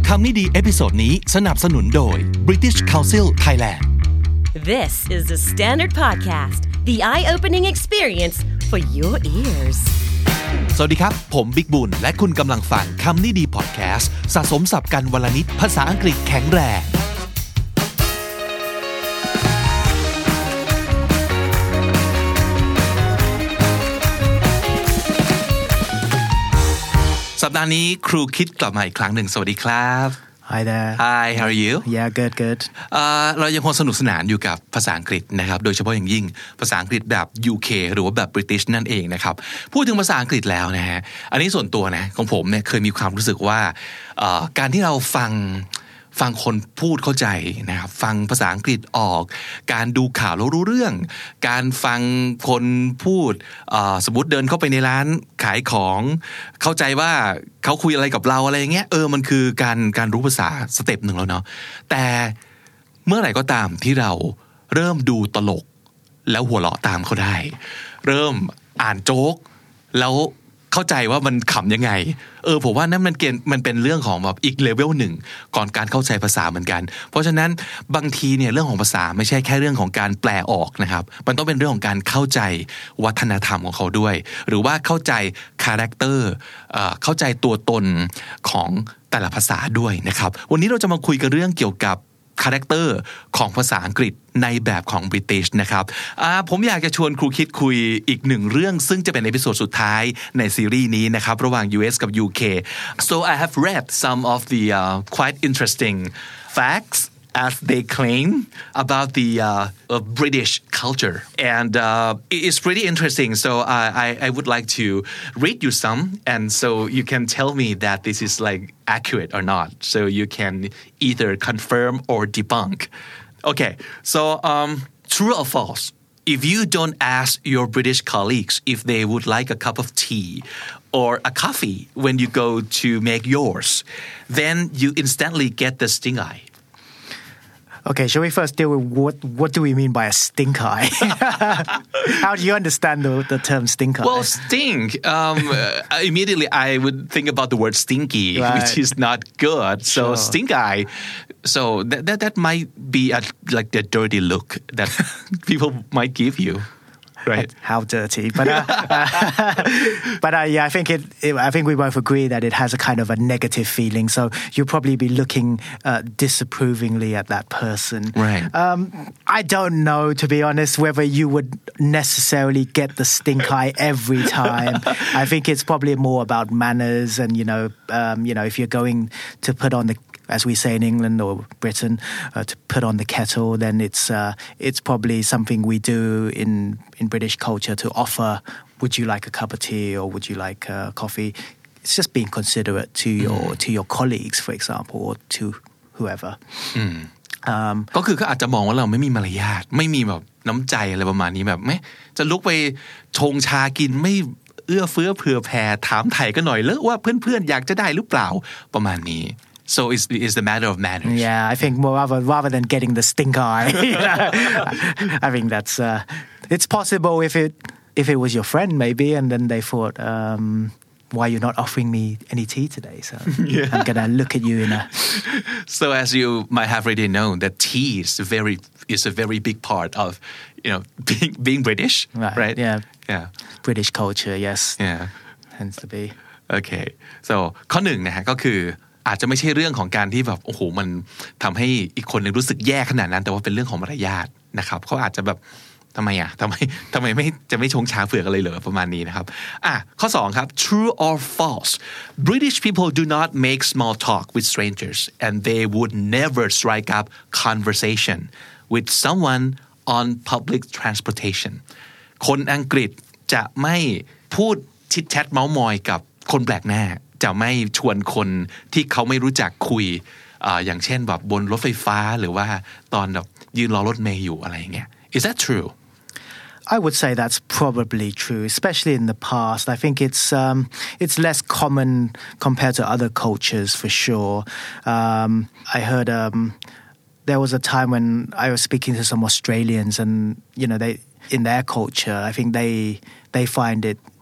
คำนี้ดีเอพิโซดนี้สนับสนุนโดย British Council Thailand This is the Standard Podcast the eye-opening experience for your ears สวัสดีครับผมบิ๊กบุญและคุณกำลังฟังคำนี้ดีพอดแคสต์สะสมศัพท์กันวลนิดภาษาอังกฤษแข็งแรงสัปดาห์นี้ครูคิดกลับมาอีกครั้งหนึ่งสวัสดีครับ Hi there. Hi, how are you? Yeah, good. เรายังคงสนุกสนานอยู่กับภาษาอังกฤษนะครับโดยเฉพาะอย่างยิ่งภาษาอังกฤษแบบ UK หรือว่าแบบ British นั่นเองนะครับพูดถึงภาษาอังกฤษแล้วนะฮะอันนี้ส่วนตัวนะของผมเนี่ยเคยมีความรู้สึกว่าการที่เราฟังคนพูดเข้าใจนะครับฟังภาษาอังกฤษออกการดูข่าวแล้วรู้เรื่องการฟังคนพูดสมมติเดินเข้าไปในร้านขายของเข้าใจว่าเขาคุยอะไรกับเราอะไรอย่างเงี้ยมันคือการรู้ภาษาสเต็ปหนึ่งแล้วเนาะแต่เมื่อไหร่ก็ตามที่เราเริ่มดูตลกแล้วหัวเราะตามเขาได้เริ่มอ่านโจ๊กแล้วเข้าใจว่ามันขำยังไงผมว่านั่นมันเป็นเรื่องของแบบอีกเลเวลหนึ่งก่อนการเข้าใจภาษาเหมือนกันเพราะฉะนั้นบางทีเนี่ยเรื่องของภาษาไม่ใช่แค่เรื่องของการแปลออกนะครับมันต้องเป็นเรื่องของการเข้าใจวัฒนธรรมของเขาด้วยหรือว่าเข้าใจคาแรคเตอร์เข้าใจตัวตนของแต่ละภาษาด้วยนะครับวันนี้เราจะมาคุยกันเรื่องเกี่ยวกับคาแรคเตอร์ของภาษาอังกฤษในแบบของ British นะครับผมอยากจะชวนครูคิดคุยอีกหนึ่งเรื่องซึ่งจะเป็นเอพิโซดสุดท้ายในซีรีส์นี้นะครับระหว่าง US กับ UK so I have read some of the quite interesting facts as they claim about the British culture and it's pretty interesting so I would like to read you some and so you can tell me that this is like accurate or not so you can either confirm or debunk okay so true or false if you don't ask your British colleagues if they would like a cup of tea or a coffee when you go to make yours then you instantly get the stink eye Okay, shall we first deal with what do we mean by a stink eye? How do you understand the term stink eye? Well, stink. Immediately I would think about the word stinky, right. Which is not good. So sure. Stink eye. So that might be like the dirty look that people might give you. Right. How dirty, but yeah, I think I think we both agree that it has a kind of a negative feeling. So you'll probably be looking disapprovingly at that person. Right. I don't know, to be honest, whether you would necessarily get the stink eye every time. I think it's probably more about manners, and if you're going to put on the, as we say in England or Britain, to put on the kettle, then it's probably something we do in British culture to offer. Would you like a cup of tea or would you like coffee? It's just being considerate to your colleagues, for example, or to whoever. ก็คือเขาอาจจะมองว่าเราไม่มีมารยาทไม่มีแบบน้ำใจอะไรประมาณนี้แบบไม่จะลุกไปชงชากินไม่เอื้อเฟื้อเผื่อแผ่ถามไถ่กันหน่อยเลยว่าเพื่อนๆอยากจะได้หรือเปล่าประมาณนี้So it's the matter of manners. Yeah, I think rather than getting the stink eye, I think that's it's possible if it was your friend maybe, and then they thought, why are you not offering me any tea today? So yeah. I'm gonna look at you in a. So as you might have already known, that tea is a very big part of being British, right? Yeah. British culture, yes. Yeah. Tends to be. Okay. So ข้อหนึ่งนะฮะก็คืออาจจะไม่ใช่เรื่องของการที่แบบโอ้โหมันทำให้อีกคนนึงรู้สึกแย่ขนาดนั้นแต่ว่าเป็นเรื่องของมารยาทนะครับเขาอาจจะแบบทำไมไม่ชงชาเผือกอะไรเหรอประมาณนี้นะครับข้อ2ครับ True or false British people do not make small talk with strangers and they would never strike up conversation with someone on public transportation คนอังกฤษจะไม่พูดชิดแชทเม้ามอยกับคนแปลกหน้าจะไม่ชวนคนที่เขาไม่รู้จักคุยอย่างเช่นแบบบนรถไฟฟ้าหรือว่าตอนแบบยืนรอรถเมล์อยู่อะไรอย่างเงี้ย Is that true? I would say that's probably true, especially in the past. I think it's less common compared to other cultures for sure. I heard there was a time when I was speaking to some Australians, and they in their culture, I think they find it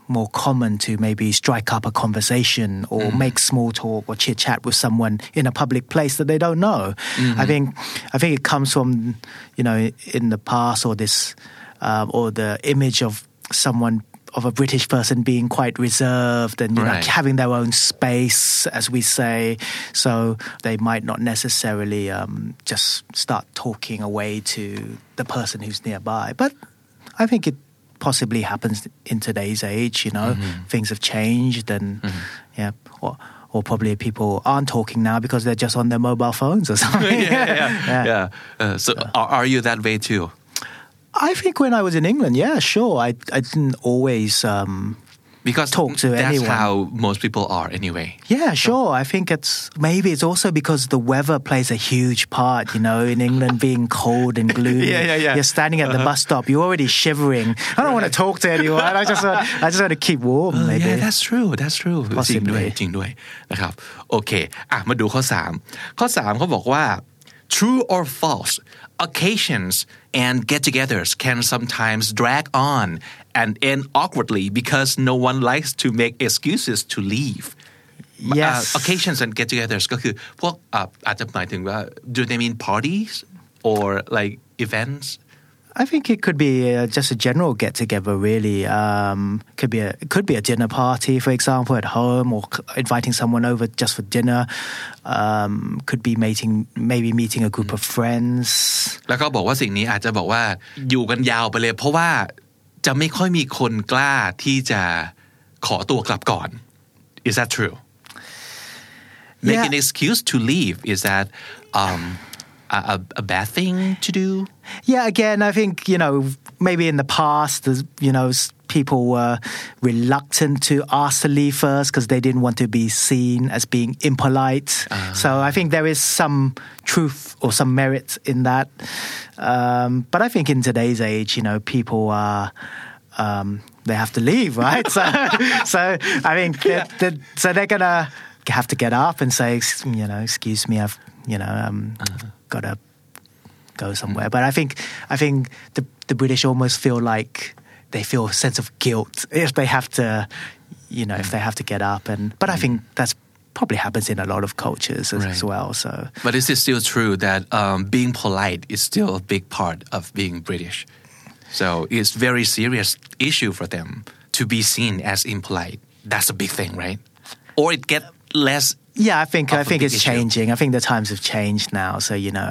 more common to maybe strike up a conversation or make small talk or chit chat with someone in a public place that they don't know. I think it comes from, in the past or this, or the image of a British person being quite reserved and having their own space, as we say. So they might not necessarily just start talking away to the person who's nearby. But I think it possibly happens in today's age. Things have changed, and or probably people aren't talking now because they're just on their mobile phones or something. So are you that way too? I think when I was in England, sure. I didn't always because talk to that's anyone. That's how most people are anyway. Yeah, sure. I think it's also because the weather plays a huge part, in England being cold and gloomy. You're standing at the bus stop, you're already shivering. I don't want to talk to anyone. I just want to keep warm, maybe. Yeah, that's true. จริงด้วยนะครับโอเคมาดูข้อ3เขาบอกว่า True or false occasions and get-togethers can sometimes drag on and end awkwardly because no one likes to make excuses to leave. Yes. Occasions and get-togethers ก็คือพวกอาจจะหมายถึงว่า do they mean parties or like events? I think it could be just a general get-together, really. It could be a dinner party, for example, at home, or inviting someone over just for dinner. Could be maybe meeting a group of friends. แล้วก็บอกว่าสิ่งนี้อาจจะบอกว่าอยู่กันยาวไปเลยเพราะว่าจะไม่ค่อยมีคนกล้าที่จะขอตัวกลับก่อน Is that true? Make an excuse to leave. Is that a bad thing to do? Yeah, again, I think, maybe in the past, people were reluctant to ask to leave first because they didn't want to be seen as being impolite. So I think there is some truth or some merit in that. But I think in today's age, people are... they have to leave, right? So I think so they're gonna have to get up and say, excuse me, I've got to go somewhere. But I think the British almost feel like they feel a sense of guilt if they have to, if they have to get up. But I think that's probably happens in a lot of cultures as well. So, but is it still true that being polite is still a big part of being British? So it's very serious issue for them to be seen as impolite. That's a big thing, right? Or it get less. Yeah, I think it's changing. I think the times have changed now. So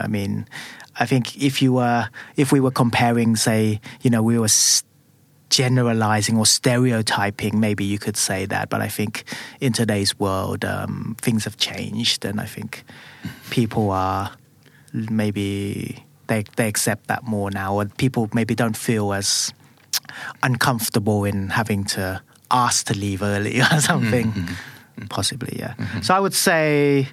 I think if we were comparing, say, we were generalizing or stereotyping, maybe you could say that. But I think in today's world, things have changed, and I think people are maybe they accept that more now, or people maybe don't feel as uncomfortable in having to ask to leave early or something. Possibly, yeah. So I would say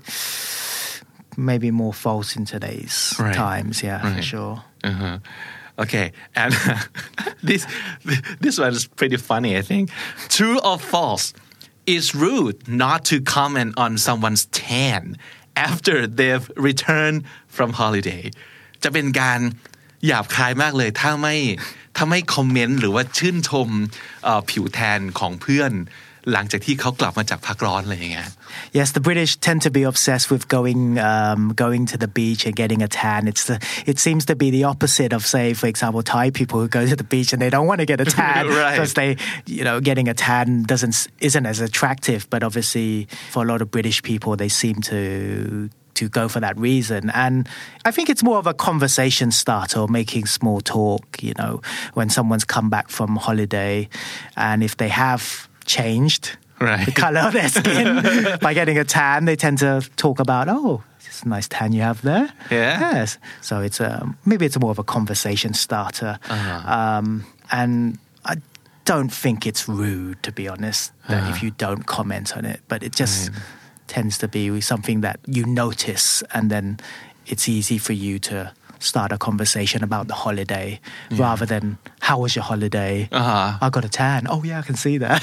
maybe more false in today's times, for sure. Okay, and this one is pretty funny, I think. True or false? It's rude not to comment on someone's tan after they've returned from holiday. จะเป็นการหยาบคายมากเลยถ้าไม่คอมเมนต์หรือว่าชื่นชมผิวแทนของเพื่อนหลังจากที่เขากลับมาจากพักร้อนอะไรอย่างเงี้ย Yes, the British tend to be obsessed with going to the beach and getting a tan. It seems to be the opposite of, say, for example, Thai people who go to the beach and they don't want to get a tan because getting a tan isn't as attractive. But obviously, for a lot of British people, they seem to go for that reason. And I think it's more of a conversation starter or making small talk, when someone's come back from holiday, and if they have changed the color of their skin by getting a tan, they tend to talk about, it's a nice tan you have there. Yes. So it's maybe it's more of a conversation starter. And I don't think it's rude, to be honest, that if you don't comment on it, but it just tends to be something that you notice, and then it's easy for you to start a conversation about the holiday rather than how was your holiday? I got a tan. Oh yeah, I can see that.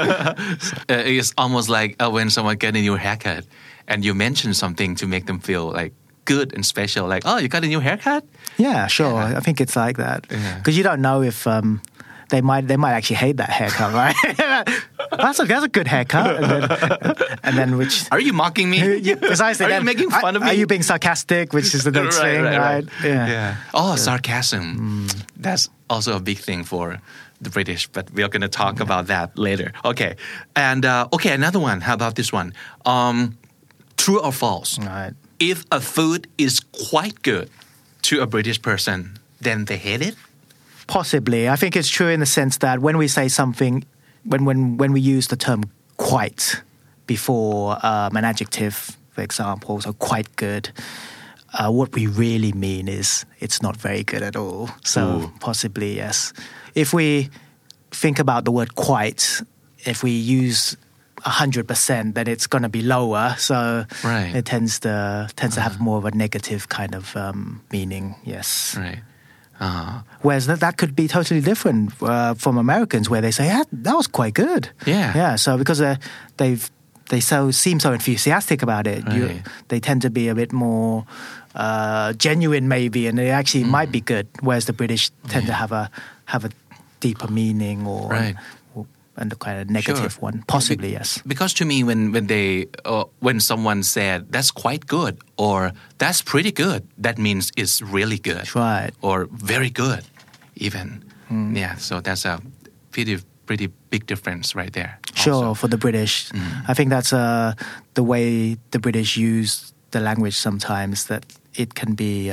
It's almost like when someone get a new haircut and you mention something to make them feel like good and special, like, oh, you got a new haircut? Yeah, sure. I think it's like that because you don't know if they might actually hate that haircut, right? that's a good haircut. And then which Are you mocking me? Precisely. Are you making fun of me? Are you being sarcastic? Which is the next thing, right? Yeah. Oh, sarcasm. That's also a big thing for the British, but we are going to talk about that later. Okay. And another one. How about this one? True or false? Right. If a food is quite good to a British person, then they hate it? Possibly. I think it's true in the sense that when we say something, when we use the term quite before an adjective, for example, so quite good, what we really mean is it's not very good at all. So possibly, yes. If we think about the word quite, if we use 100%, then it's going to be lower. So it tends to have more of a negative kind of meaning. Yes. Right. Whereas that could be totally different from Americans, where they say, "Yeah, that was quite good." Yeah. So because they seem so enthusiastic about it, they tend to be a bit more genuine, maybe, and they actually might be good. Whereas the British tend to have a deeper meaning or and the kind of negative one, possibly. Yes. Because to me, when someone said that's quite good or that's pretty good, that means it's really good, right? Or very good, even. Yeah. So that's a pretty big difference right there. Sure, also. For the British, I think that's the way the British use the language sometimes, that it can be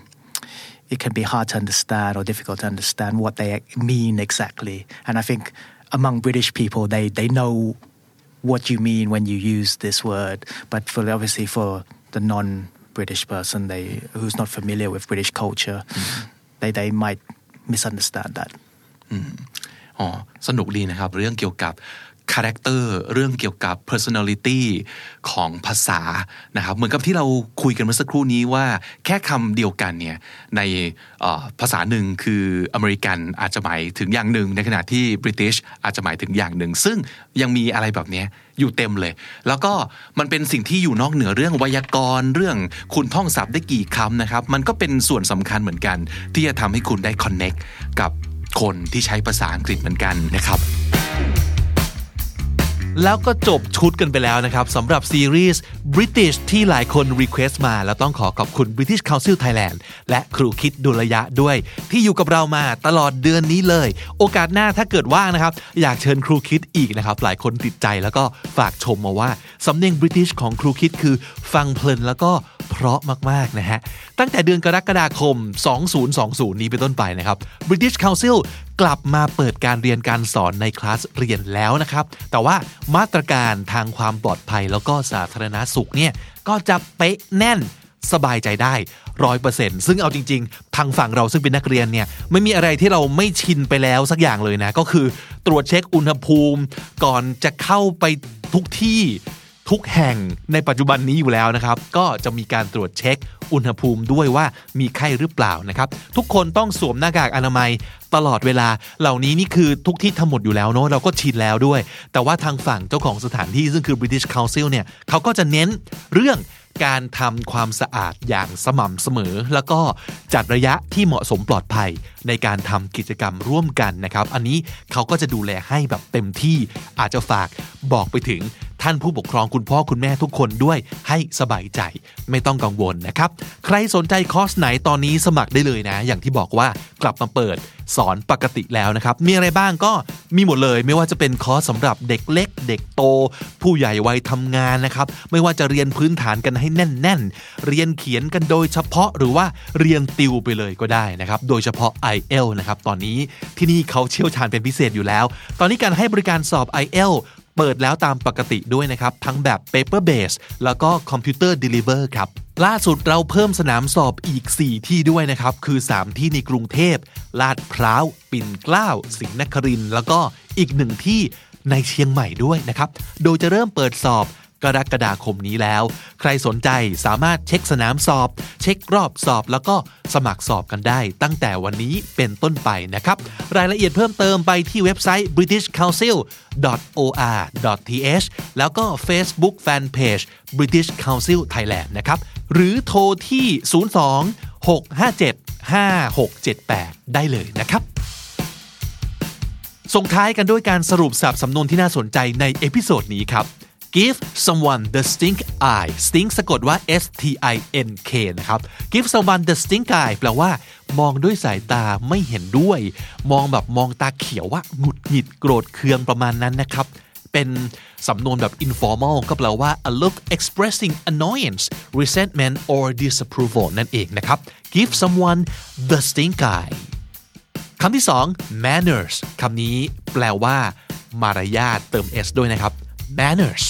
hard to understand or difficult to understand what they mean exactly. And I think among British people, they know what you mean when you use this word, but obviously for the non-British person, who's not familiar with British culture, they might misunderstand that. สนุกดีนะครับเรื่องเกี่ยวกับคาแรคเตอร์เรื่องเกี่ยวกับ personality ของภาษานะครับเหมือนกับที่เราคุยกันเมื่อสักครู่นี้ว่าแค่คำเดียวกันเนี่ยในภาษาหนึ่งคืออเมริกันอาจจะหมายถึงอย่างหนึ่งในขณะที่ British อาจจะหมายถึงอย่างหนึ่งซึ่งยังมีอะไรแบบนี้อยู่เต็มเลยแล้วก็มันเป็นสิ่งที่อยู่นอกเหนือเรื่องไวยากรณ์เรื่องคุณท่องศัพท์ได้กี่คำนะครับมันก็เป็นส่วนสำคัญเหมือนกันที่จะทำให้คุณได้ connect กับคนที่ใช้ภาษาอังกฤษเหมือนกันนะครับแล้วก็จบชุดกันไปแล้วนะครับสำหรับซีรีส์ British ที่หลายคนรีเควสต์มาแล้วต้องขอบคุณ British Council Thailand และครูคิดดุลยะด้วยที่อยู่กับเรามาตลอดเดือนนี้เลยโอกาสหน้าถ้าเกิดว่างนะครับอยากเชิญครูคิดอีกนะครับหลายคนติดใจแล้วก็ฝากชมมาว่าสำเนียง British ของครูคิดคือฟังเพลินแล้วก็เพราะมากๆนะฮะตั้งแต่เดือนกรกฎาคม2020นี้เป็นต้นไปนะครับ British Council กลับมาเปิดการเรียนการสอนในคลาสเรียนแล้วนะครับแต่ว่ามาตรการทางความปลอดภัยแล้วก็สาธารณสุขเนี่ยก็จะเป๊ะแน่นสบายใจได้ 100% ซึ่งเอาจริงๆทางฝั่งเราซึ่งเป็นนักเรียนเนี่ยไม่มีอะไรที่เราไม่ชินไปแล้วสักอย่างเลยนะก็คือตรวจเช็คอุณหภูมิก่อนจะเข้าไปทุกที่ทุกแห่งในปัจจุบันนี้อยู่แล้วนะครับก็จะมีการตรวจเช็คอุณหภูมิด้วยว่ามีไข้หรือเปล่านะครับทุกคนต้องสวมหน้ากากอนามัยตลอดเวลาเหล่านี้นี่คือทุกที่ทำหมดอยู่แล้วเนาะเราก็ชินแล้วด้วยแต่ว่าทางฝั่งเจ้าของสถานที่ซึ่งคือ British Council เนี่ยเขาก็จะเน้นเรื่องการทำความสะอาดอย่างสม่ำเสมอแล้วก็จัดระยะที่เหมาะสมปลอดภัยในการทำกิจกรรมร่วมกันนะครับอันนี้เขาก็จะดูแลให้แบบเต็มที่อาจจะฝากบอกไปถึงท่านผู้ปกครองคุณพ่อคุณแม่ทุกคนด้วยให้สบายใจไม่ต้องกังวลนะครับใครสนใจคอร์สไหนตอนนี้สมัครได้เลยนะอย่างที่บอกว่ากลับมาเปิดสอนปกติแล้วนะครับมีอะไรบ้างก็มีหมดเลยไม่ว่าจะเป็นคอร์สสำหรับเด็กเล็กเด็กโตผู้ใหญ่วัยทำงานนะครับไม่ว่าจะเรียนพื้นฐานกันให้แน่นๆเรียนเขียนกันโดยเฉพาะหรือว่าเรียนติวไปเลยก็ได้นะครับโดยเฉพาะ IELTS นะครับตอนนี้ที่นี่เขาเชี่ยวชาญเป็นพิเศษอยู่แล้วตอนนี้การให้บริการสอบ IELTS เปิดแล้วตามปกติด้วยนะครับทั้งแบบ paper base แล้วก็ computer deliver ครับล่าสุดเราเพิ่มสนามสอบอีก4ที่ด้วยนะครับคือ3ที่ในกรุงเทพลาดพร้าวปิ่นเกล้าศรีนครินทร์แล้วก็อีก1ที่ในเชียงใหม่ด้วยนะครับโดยจะเริ่มเปิดสอบกรกฎาคมนี้แล้วใครสนใจสามารถเช็คสนามสอบเช็ครอบสอบแล้วก็สมัครสอบกันได้ตั้งแต่วันนี้เป็นต้นไปนะครับรายละเอียดเพิ่มเติมไปที่เว็บไซต์ britishcouncil.or.th แล้วก็ Facebook Fanpage British Council Thailand นะครับหรือโทรที่02 657 5678ได้เลยนะครับส่งท้ายกันด้วยการสรุปศัพท์สำนวนที่น่าสนใจในเอพิโซดนี้ครับ Give someone the stink eye stink สะกดว่า S-T-I-N-K นะครับ Give someone the stink eye แปลว่ามองด้วยสายตาไม่เห็นด้วยมองแบบมองตาเขียวว่าหงุดหงิดโกรธเคืองประมาณนั้นนะครับเป็นสำนวนแบบ informal ก็แปลว่า a look expressing annoyance resentment or disapproval นั่นเองนะครับ Give someone the stink eye คำที่สอง manners คำนี้แปลว่ามารยาทเติม s ด้วยนะครับ manners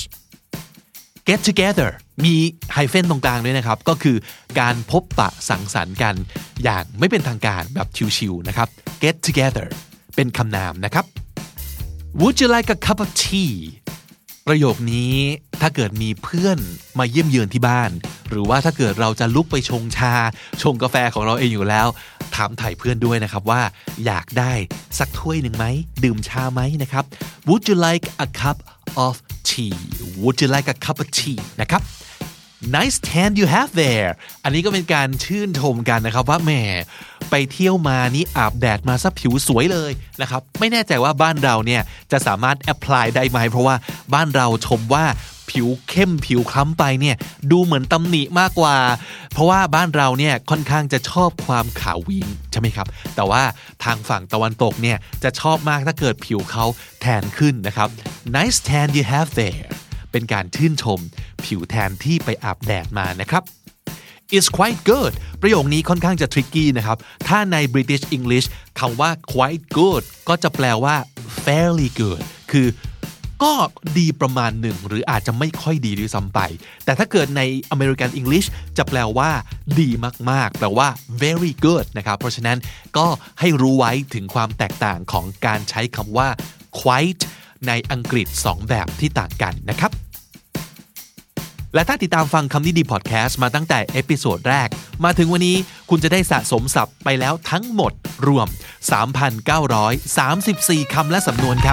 get together มีไฮเฟนตรงกลางด้วยนะครับก็คือการพบปะสังสรรค์กันอย่างไม่เป็นทางการแบบชิวๆนะครับ get together เป็นคำนามนะครับ Would you like a cup of tea ประโยคนี้ถ้าเกิดมีเพื่อนมาเยี่ยมเยือนที่บ้านหรือว่าถ้าเกิดเราจะลุกไปชงชาชงกาแฟของเราเองอยู่แล้วถามถ่ายเพื่อนด้วยนะครับว่าอยากได้สักถ้วยหนึ่งไหมดื่มชาไหมนะครับ Would you like a cup of tea Would you like a cup of tea นะครับ Nice tan you have there อันนี้ก็เป็นการชื่นชมกันนะครับว่าแหมไปเที่ยวมานี่อาบแดดมาซะผิวสวยเลยนะครับไม่แน่ใจว่าบ้านเราเนี่ยจะสามารถ apply ได้ไหมเพราะว่าบ้านเราชมว่าผิวเข้มผิวคล้ำไปเนี่ยดูเหมือนตำหนิมากกว่าเพราะว่าบ้านเราเนี่ยค่อนข้างจะชอบความขาววิงใช่ไหมครับแต่ว่าทางฝั่งตะวันตกเนี่ยจะชอบมากถ้าเกิดผิวเขาแทนขึ้นนะครับ Nice tan you have there เป็นการชื่นชมผิวแทนที่ไปอาบแดดมานะครับ It's quite good ประโยคนี้ค่อนข้างจะ tricky นะครับถ้าใน British English คำว่า quite good ก็จะแปลว่า fairly good คือก็ดีประมาณหนึ่งหรืออาจจะไม่ค่อยดีด้วยซ้ำไปแต่ถ้าเกิดใน American English จะแปลว่าดีมากๆแปลว่า very good นะครับเพราะฉะนั้นก็ให้รู้ไว้ถึงความแตกต่างของการใช้คำว่า quite ในอังกฤษ2แบบที่ต่างกันนะครับและถ้าติดตามฟังคำนี้ดีพอดแคสต์มาตั้งแต่เอพิโซดแรกมาถึงวันนี้คุณจะได้สะสมศัพท์ไปแล้วทั้งหมดรวม 3,934 คำและสำนวนครับ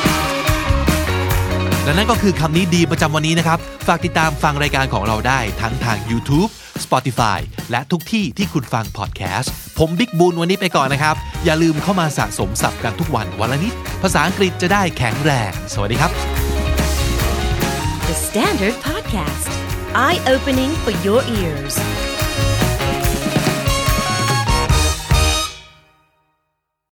และนั่นก็คือคำนี้ดีประจำวันนี้นะครับฝากติดตามฟังรายการของเราได้ทั้งทาง YouTube Spotify และทุกที่ที่คุณฟังพอดแคสต์ผมบิ๊กบูนวันนี้ไปก่อนนะครับอย่าลืมเข้ามาสะสมศัพท์กันทุกวันวันละนิดภาษาอังกฤษจะได้แข็งแรงสวัสดีครับ The Standard Podcast Eye Opening for Your Ears